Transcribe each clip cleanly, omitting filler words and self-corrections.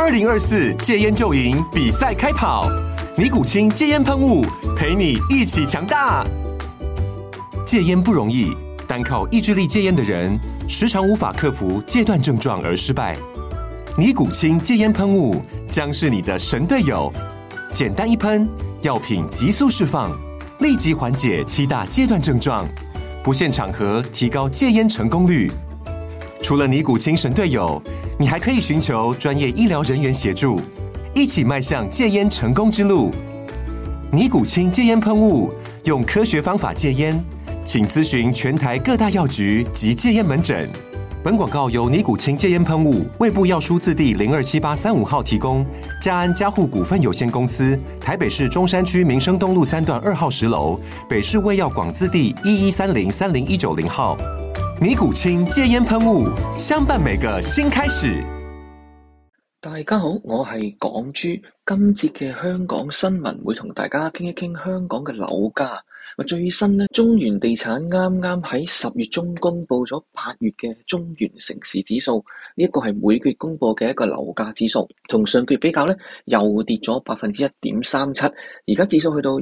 2024戒菸就贏比賽開跑，尼古清戒菸噴霧陪你一起強大。戒菸不容易，單靠意志力戒菸的人，時常無法克服戒斷症狀而失敗。尼古清戒菸噴霧將是你的神隊友，簡單一噴，藥品急速釋放，立即緩解7大戒斷症狀，不限場合提高戒菸成功率。除了尼古清神隊友，你還可以尋求專業醫療人員協助，一起邁向戒菸成功之路。尼古清戒菸噴霧，用科學方法戒菸，請諮詢全台各大藥局及戒菸門診。本廣告由尼古清戒菸噴霧衛部藥書字第027835號提供，嘉安嘉護股份有限公司台北市中山區民生東路3段2號10樓，北市衛藥廣字第1130-30190號。尼古清戒菸噴霧，相伴每個新開始。 大家好，我係港豬。今節嘅香港新聞會同大家傾一傾香港嘅樓價。最新呢，中原地產啱啱喺10月中公布咗8月嘅中原城市指數，呢一個係每個月公布嘅一個樓價指數，同上個月比較呢，又跌咗1.37%，而家指數去到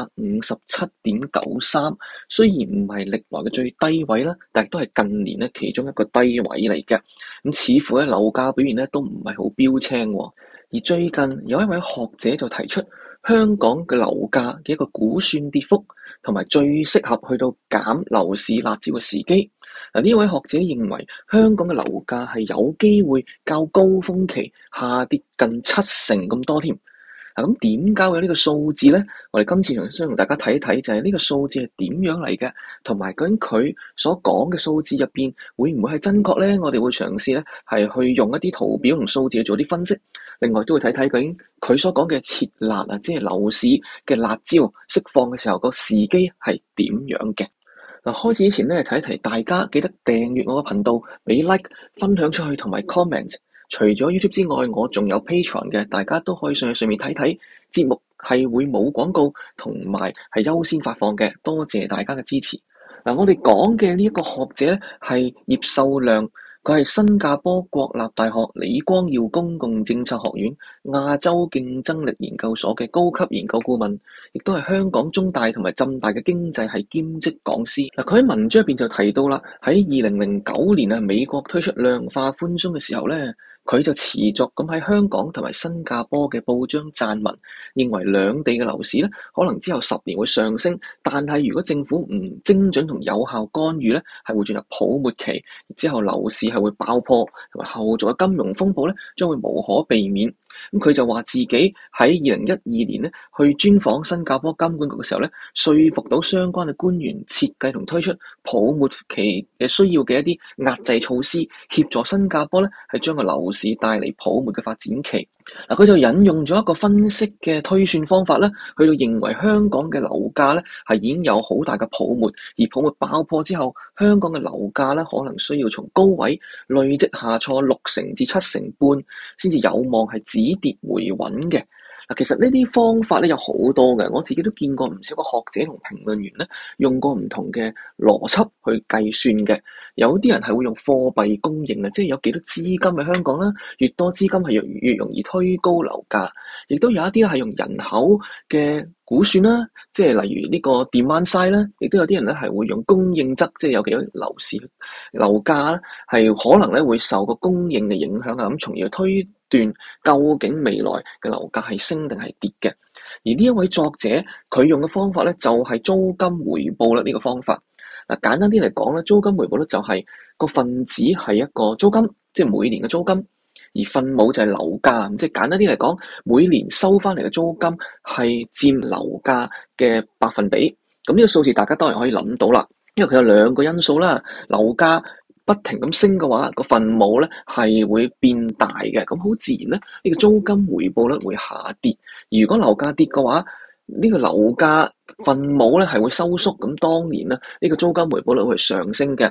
157.93，雖然唔係歷來嘅最低位啦，但係都係近年呢其中一個低位嚟嘅。咁似乎咧樓價表現呢都唔係好標青喎。而最近有一位學者就提出香港嘅樓價嘅一個估算跌幅，同埋最適合去到減樓市辣招嘅時機。呢位學者認為香港嘅樓價係有機會較高峰期下跌近70%咁多添。咁點解有呢個數字呢？我哋今次想同大家睇一睇，就係呢個數字係點樣嚟嘅，同埋究竟佢所講嘅數字入邊會唔會係真確呢？我哋會嘗試咧係去用一啲圖表同數字去做啲分析。另外都會睇睇究竟佢所講嘅撤辣啊，即係樓市嘅辣招釋放嘅時候個時機係點樣嘅。嗱，開始之前咧，提一提大家記得訂閱我個頻道，俾 like 分享出去同埋 comment。除咗 YouTube 之外，我仲有 Patreon 嘅，大家都可以上去上面睇睇。節目係會冇廣告，同埋係優先發放嘅。多謝大家嘅支持。嗱，我哋講嘅呢一個學者咧係葉秀亮，佢係新加坡國立大學李光耀公共政策學院亞洲競爭力研究所嘅高級研究顧問，亦都係香港中大同埋浸大嘅經濟系兼職講師。嗱，佢喺文章入邊就提到啦，喺2009年啊，美國推出量化寬鬆嘅時候咧，佢就持續咁喺香港同埋新加坡嘅報章撰文，認為兩地嘅樓市咧可能之後10年會上升，但係如果政府唔精準同有效干預咧，係會進入泡沫期，之後樓市係會爆破，同埋後續嘅金融風暴咧將會無可避免。咁佢就話自己喺2012年咧去專訪新加坡金管局嘅時候咧，說服到相關嘅官員設計同推出泡沫期嘅需要嘅一啲壓制措施，協助新加坡咧係將個樓市帶嚟泡沫嘅發展期。嗱，佢就引用咗一個分析嘅推算方法咧，去到認為香港嘅樓價咧係已經有好大嘅泡沫，而泡沫爆破之後，香港嘅樓價咧可能需要從高位累積下挫60%至7.5%，先至有望係止跌回穩嘅。嗱，其實呢啲方法咧有好多嘅，我自己都見過唔少個學者同評論員咧用過唔同嘅邏輯去計算嘅。有啲人係會用貨幣供應啊，即係有幾多資金喺香港啦，越多資金係越容易推高樓價。亦都有一啲係用人口嘅估算啦，即係例如呢個 demand side 啦，亦都有啲人咧係會用供應側，即係有幾多樓價係可能咧會受個供應嘅影響啊，咁從而推斷究竟未來嘅樓價係升定係跌嘅。而呢一位作者佢用嘅方法咧就係租金回報啦，呢個方法。嗱，簡單啲嚟講咧，租金回報咧就係個分子係一個租金，即係每年嘅租金，而分母就係樓價。即係簡單啲嚟講，每年收翻嚟嘅租金係佔樓價嘅百分比。咁呢個數字大家當然可以諗到啦，因為佢有兩個因素啦。樓價不停咁升嘅話，個分母咧係會變大嘅，咁好自然咧，呢個租金回報率會下跌。而如果樓價跌嘅話，呢個樓價分母咧係會收縮，咁當然咧呢個租金回報率會上升嘅。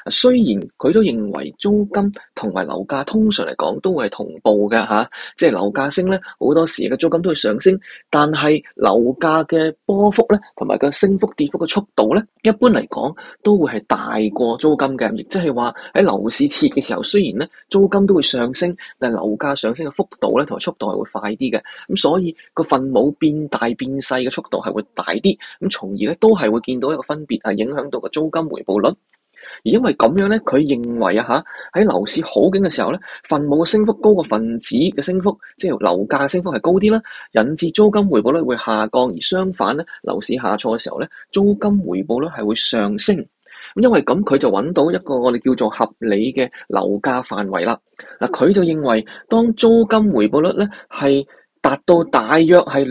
雖然佢都認為租金同埋樓價通常嚟講都會係同步嘅嚇，即係樓價升咧，好多時嘅租金都會上升，但係樓價嘅波幅咧同埋個升幅跌幅嘅速度咧，一般嚟講都會係大過租金嘅，亦即係話喺樓市熾嘅時候，雖然咧租金都會上升，但係樓價上升嘅幅度咧同埋速度係會快啲嘅，咁所以個分母變大變細嘅速度係會大啲，咁從而咧都係會見到一個分別，係影響到個租金回報率。而因為咁樣咧，佢認為喺樓市好景嘅時候咧，分母嘅升幅高過分子嘅升幅，即係樓價嘅升幅係高啲啦，引致租金回報率會下降。而相反咧，樓市下挫嘅時候咧，租金回報率係會上升。咁因為咁，佢就揾到一個我哋叫做合理嘅樓價範圍啦。嗱，佢就認為當租金回報率咧係達到大約係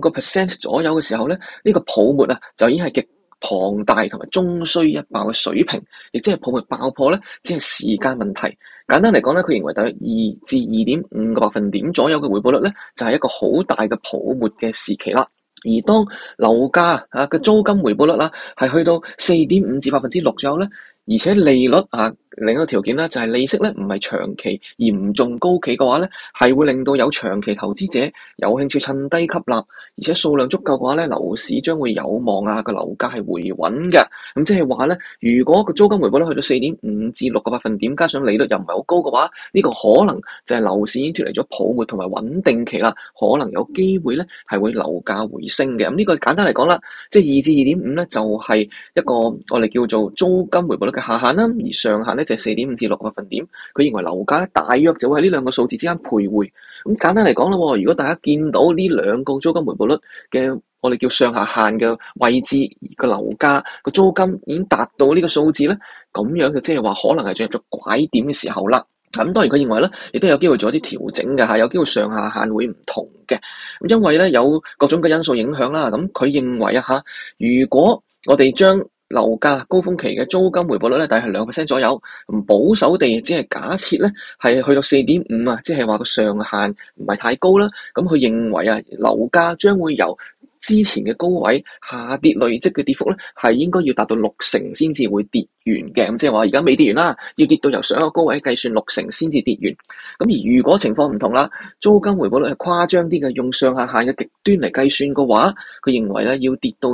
2% 左右嘅時候咧，呢個泡沫就已經係極龐大同埋終須一爆嘅水平，亦即係泡沫爆破咧，只係時間問題。簡單嚟講咧，佢認為大約2至2.5個百分點左右嘅回報率咧，就係一個好大嘅泡沫嘅時期啦。而當樓價嘅租金回報率係去到4.5至6%左右咧，而且利率另一個條件咧就係利息咧唔係長期嚴重高企嘅話咧，係會令到有長期投資者有興趣趁低吸納，而且數量足夠嘅話咧，樓市將會有望個樓價係回穩嘅。咁即係話咧，如果個租金回報率去到4.5至6個百分點，加上利率又唔係好高嘅話，呢個可能就係樓市已經脫離咗泡沫同埋穩定期啦，可能有機會咧係會樓價回升嘅。咁呢個簡單嚟講啦，即係2至2.5咧就係一個我哋叫做租金回報率嘅下限啦，而上限咧就係4.5至6個百分點。佢認為樓價咧大約就會喺呢兩個數字之間徘徊。咁簡單嚟講啦，如果大家見到呢兩個租金回報率嘅我哋叫上下限嘅位置，個樓價個租金已經達到呢個數字咧，咁樣就即係話可能係進入咗拐點嘅時候啦。咁當然佢認為咧，亦都有機會做一啲調整嘅，有機會上下限會唔同嘅。咁因為咧有各種嘅因素影響啦。咁佢認為如果我哋將樓價高峰期嘅租金回報率咧，大概係2% 左右，保守地只係假設咧係去到4.5即係話個上限唔係太高啦。咁佢認為樓價將會由之前嘅高位下跌累積嘅跌幅咧，係應該要達到60%先至會跌完嘅。咁即係話而家未跌完啦，要跌到由上一個高位計算60%先至跌完。咁而如果情況唔同啦，租金回報率係誇張啲嘅，用上下限嘅極端嚟計算嘅話，佢認為咧要跌到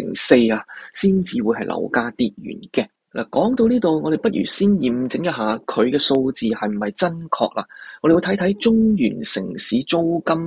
4%先至會係樓價跌完嘅。嗱，講到呢度，我哋不如先驗證一下佢嘅數字係唔係真確啦。我哋會睇睇中原城市租金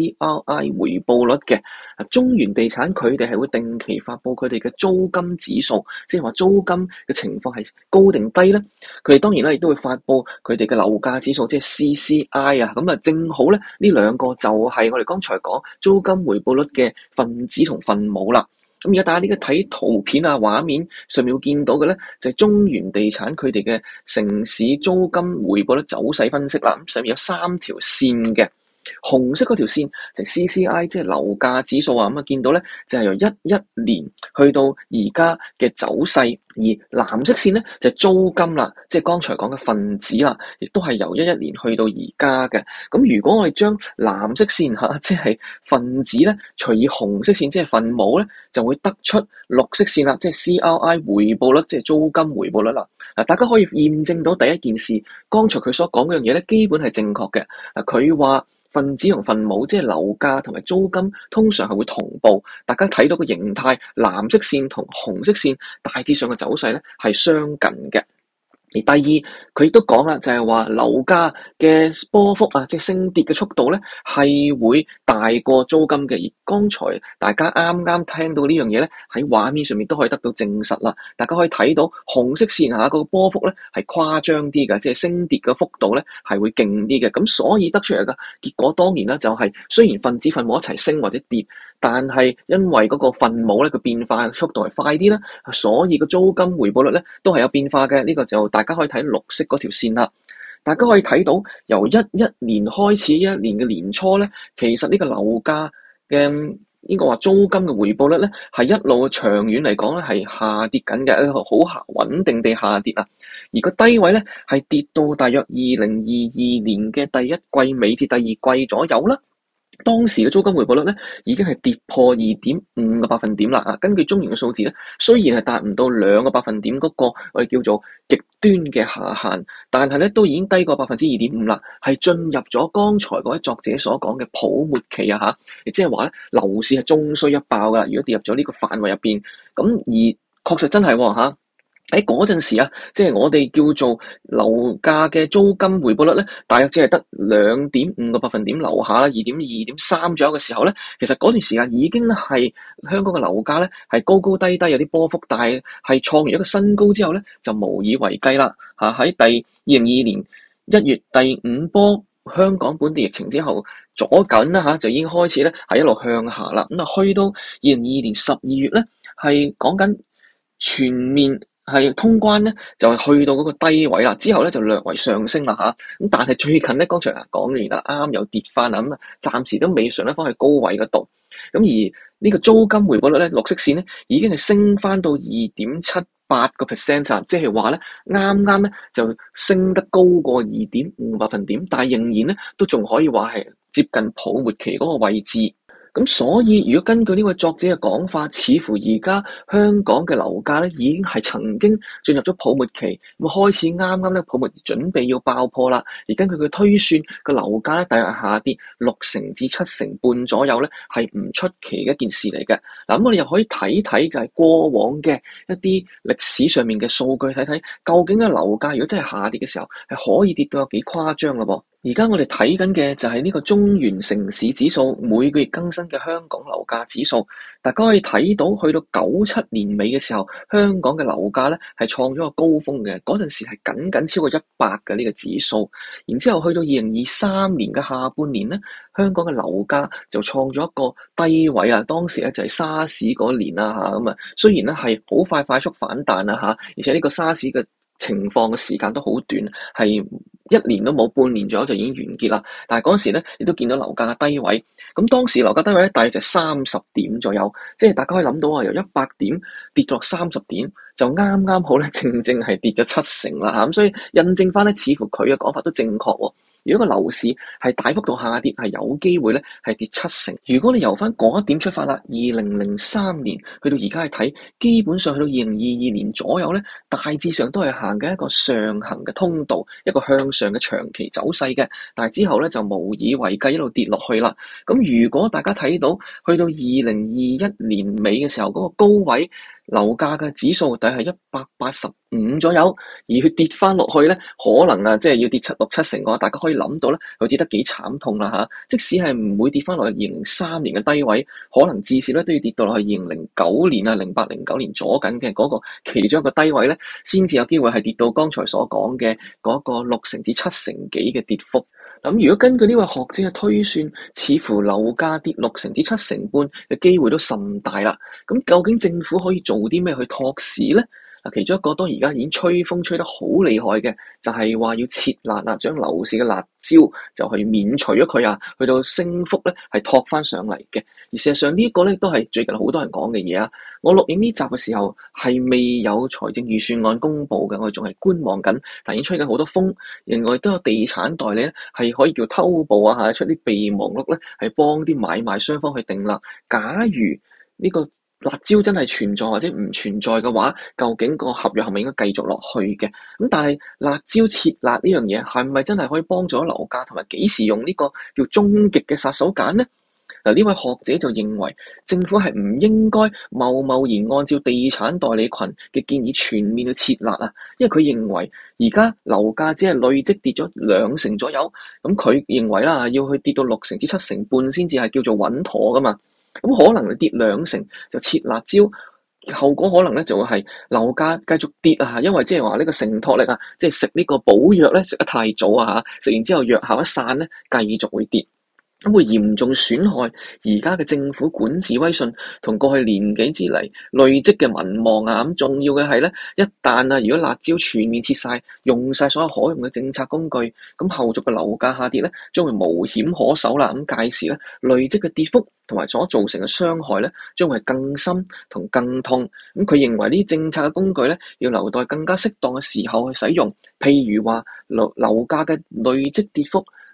CRI 回報率嘅。中原地產佢哋係會定期發布佢哋嘅租金指數，即係話租金嘅情況係高定低咧。佢哋當然咧亦都會發布佢哋嘅樓價指數，即係 CCI 咁正好咧呢兩個就係我哋剛才講租金回報率嘅分子同分母啦。咁而家大家呢個睇圖片畫面上面會見到嘅咧，就係中原地產佢哋嘅城市租金回報率走勢分析啦。咁上面有3條線嘅，紅色嗰條線就係 CCI， 即係樓價指數咁見到咧就係由11年去到而家嘅走勢，而藍色線咧就係租金啦，即係剛才講嘅分子啦，亦都係由11年去到而家嘅。咁如果我哋將藍色線即係分子咧，除以紅色線即係分母咧，就會得出綠色線啦，即係 CRI 回報率，即係租金回報率啦。大家可以驗證到第一件事，剛才佢所講嗰樣嘢咧，基本係正確嘅。佢話分子同分母即係樓價同埋租金通常係會同步，大家睇到個形態，藍色線同紅色線大致上嘅走勢咧係相近嘅。而第二，佢亦都講啦，就係話樓價嘅波幅即係升跌嘅速度咧，係會大過租金嘅。而剛才大家啱啱聽到呢樣嘢咧，喺畫面上面都可以得到證實啦。大家可以睇到紅色線下個波幅咧係誇張啲嘅，即係升跌嘅幅度咧係會勁啲嘅。咁所以得出嚟嘅結果當然啦，就係雖然分子分母一齊升或者跌，但係因為嗰個分母咧個變化速度係快啲啦，所以個租金回報率咧都係有變化嘅。呢個就大家可以睇綠色嗰條線啦。大家可以睇到由11年開始，11年嘅年初咧，其實呢個樓價嘅應該話租金嘅回報率咧係一路長遠嚟講咧係下跌緊嘅，好穩定地下跌啊。而個低位咧係跌到大約2022年嘅第一季尾至第二季左右啦。 當時嘅租金回報率咧，已經係跌破2.5個百分點啦。啊，根據中原嘅數字咧，雖然係達唔到2個百分點嗰個我哋叫做極端嘅下限，但係咧都已經低過2.5%啦，係進入咗剛才嗰位作者所講嘅泡沫期啊嚇，亦即係話咧樓市係終須一爆噶啦。如果跌入咗呢個範圍入邊，咁而確實真係嚇。喺嗰陣時啊，即係我哋叫做樓價嘅租金回報率咧，大約只係得2.5個百分點樓下啦，2.2、2.3左右嘅時候咧，其實嗰段時間已經係香港嘅樓價咧係高高低低有啲波幅，但係創完一個新高之後咧就無以為繼啦嚇。喺2022年1月第5波香港本地疫情之後，左緊啦嚇就已經開始咧係一路向下啦。咁啊，去到2022年12月咧，係講緊全面係通關咧，就係去到嗰個低位啦。之後咧就略為上升啦嚇。咁但係最近咧，剛才講完啦，啱又跌翻啦。咁啊，暫時都未上得翻去高位嗰度。咁而呢個租金回報率咧，綠色線咧已經係升翻到2.78%，即係話咧啱啱咧就升得高過2.5百分點，但係仍然咧都仲可以話係接近泡沫期嗰個位置。咁所以，如果根據呢位作者嘅講法，似乎而家香港嘅樓價咧已經係曾經進入咗泡沫期，咁開始啱啱咧泡沫準備要爆破啦。而根據佢推算，個樓價咧大約下跌60%至7%左右咧，係唔出奇嘅一件事嚟嘅。嗱，咁我哋又可以睇睇就係過往嘅一啲歷史上面嘅數據，睇睇究竟嘅樓價如果真係下跌嘅時候，係可以跌到有幾誇張咯噃。而家我哋睇緊嘅就係呢個中原城市指數每個月更新嘅香港樓價指數，大家可以睇到去到97年尾嘅時候，香港嘅樓價咧係創咗個高峰嘅，嗰陣時係僅超過100嘅呢個指數。然之後去到2023年嘅下半年咧，香港嘅樓價就創咗一個低位啦。當時咧就係沙士嗰年啦嚇，咁啊雖然咧係好快速反彈啦嚇，而且呢個沙士嘅情況嘅時間都好短，係1年都冇，半年左右就已經完結啦。但係嗰陣時咧，你都見到樓價嘅低位。咁當時樓價低位咧，大約就30點左右，即係大家可以諗到啊，由100點跌落30點，就啱啱好咧，正係跌咗70%啦嚇。咁所以印證翻咧，似乎佢嘅講法都正確喎。如果個樓市係大幅度下跌，係有機會咧係跌70%。如果你由翻嗰一點出發啦，2003年去到而家去睇，基本上去到2022年左右咧，大致上都係行緊一個上行嘅通道，一個向上嘅長期走勢嘅。但係之後咧就無以為繼，一路跌落去啦。咁如果大家睇到去到2021年尾嘅時候，嗰個高位樓價嘅指數大概係185左右，而佢跌翻落去咧，可能啊，即係要跌6-7成嘅話，大家可以諗到咧，佢跌得幾慘痛啦嚇！即使係唔會跌翻落去2003年嘅低位，可能至少咧都要跌到落去2009年啊、08、09年左緊嘅嗰個其中一個低位咧，先至有機會係跌到剛才所講嘅嗰個6成至7成幾嘅跌幅。咁如果根據呢位學者嘅推算，似乎樓價跌6成至7成半嘅機會都甚大啦。咁究竟政府可以做啲咩去托市咧？嗱，其中一個當而家已經吹風吹得好厲害嘅，就係話要撤辣啦，將樓市嘅辣椒就去免除咗佢啊，去到升幅咧係托翻上嚟嘅。而事實上呢個咧都係最近好多人講嘅嘢啊。我錄影呢集嘅時候係未有財政預算案公布嘅，我哋仲係觀望緊，但已經吹緊好多風。另外都有地產代理咧係可以叫偷步啊嚇，出啲備忘錄咧係幫啲買賣雙方去定立。假如呢個辣椒真係存在或者唔存在嘅話，究竟個合約係咪應該繼續落去嘅？咁但係辣椒撤辣呢樣嘢係咪真係可以幫助樓價，同埋幾時用呢個叫終極嘅殺手鐧呢？嗱，呢位學者就認為政府係唔應該貿然按照地產代理群嘅建議全面去撤辣啊，因為佢認為而家樓價只係累積跌咗2成左右，咁佢認為啦，要去跌到6成至7成半先至係叫做穩妥噶嘛。咁可能你跌2成就撤辣椒，後果可能咧就會係樓價繼續跌啊！因為即係話呢個承托力啊，即係食呢個補藥咧食得太早啊嚇，食完之後藥效一散咧，繼續會跌。咁會嚴重損害而家嘅政府管治威信同過去年幾之嚟累積嘅民望啊！咁重要嘅係咧，一旦啊，如果辣椒全面撤晒，用晒所有可用嘅政策工具，咁後續嘅樓價下跌咧，將會無險可守啦！咁屆時咧，累積嘅跌幅同埋所造成嘅傷害咧，將會更深同更痛。咁佢認為呢啲政策嘅工具咧，要留待更加適當嘅時候去使用，譬如話樓價嘅累積跌幅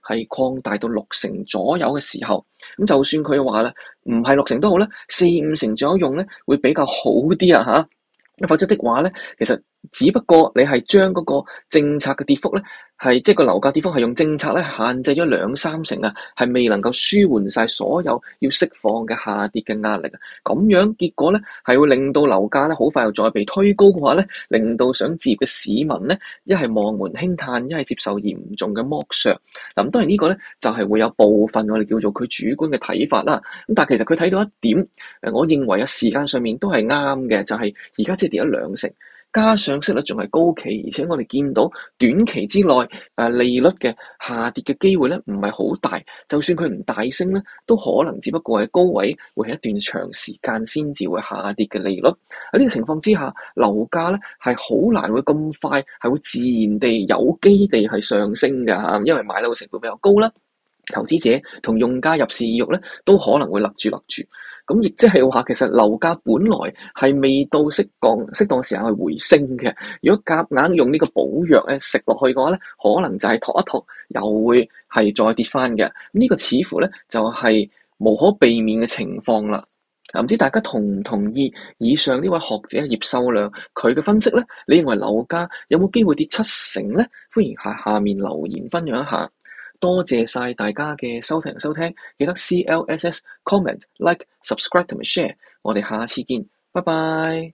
係擴大到60%左右嘅時候，咁就算佢話咧唔係60%都好咧，4-5成左右用咧會比較好啲啊嚇。否則的話咧，其實只不過你係將嗰個政策嘅跌幅咧，即係個樓價跌幅係用政策咧限制咗2-3成啊，係未能夠舒緩晒所有要釋放嘅下跌嘅壓力啊。咁樣結果咧係會令到樓價咧好快又再被推高嘅話咧，令到想置業嘅市民咧一係望門輕嘆，一係接受嚴重嘅剝削。咁當然呢個咧就係會有部分我哋叫做佢主觀嘅睇法啦。咁但係其實佢睇到一點，我認為時間上面都係啱嘅，就係而家即係跌咗2成。加上息率仲係高企，而且我哋見到短期之內利率嘅下跌嘅機會咧唔係好大，就算佢唔大升咧，都可能只不過係高位會係一段長時間先至會下跌嘅利率。喺呢個情況之下，樓價咧係好難會咁快係會自然地有機地係上升㗎嚇，因為買樓嘅成本比較高啦，投資者同用家入市意欲咧都可能會勒住。咁亦即係話，其實樓價本來係未到適當時間去回升嘅。如果夾硬用呢個補藥咧食落去嘅話咧，可能就係托一托，又會係再跌翻嘅。呢個似乎咧就係無可避免嘅情況啦。唔知大家同唔同意以上呢位學者葉秀亮佢嘅分析咧？你認為樓價有冇機會跌7成咧？歡迎下面留言分享一下。多謝晒大家嘅收聽，記得 CLSS comment like subscribe 同埋 share，我哋下次見，拜拜。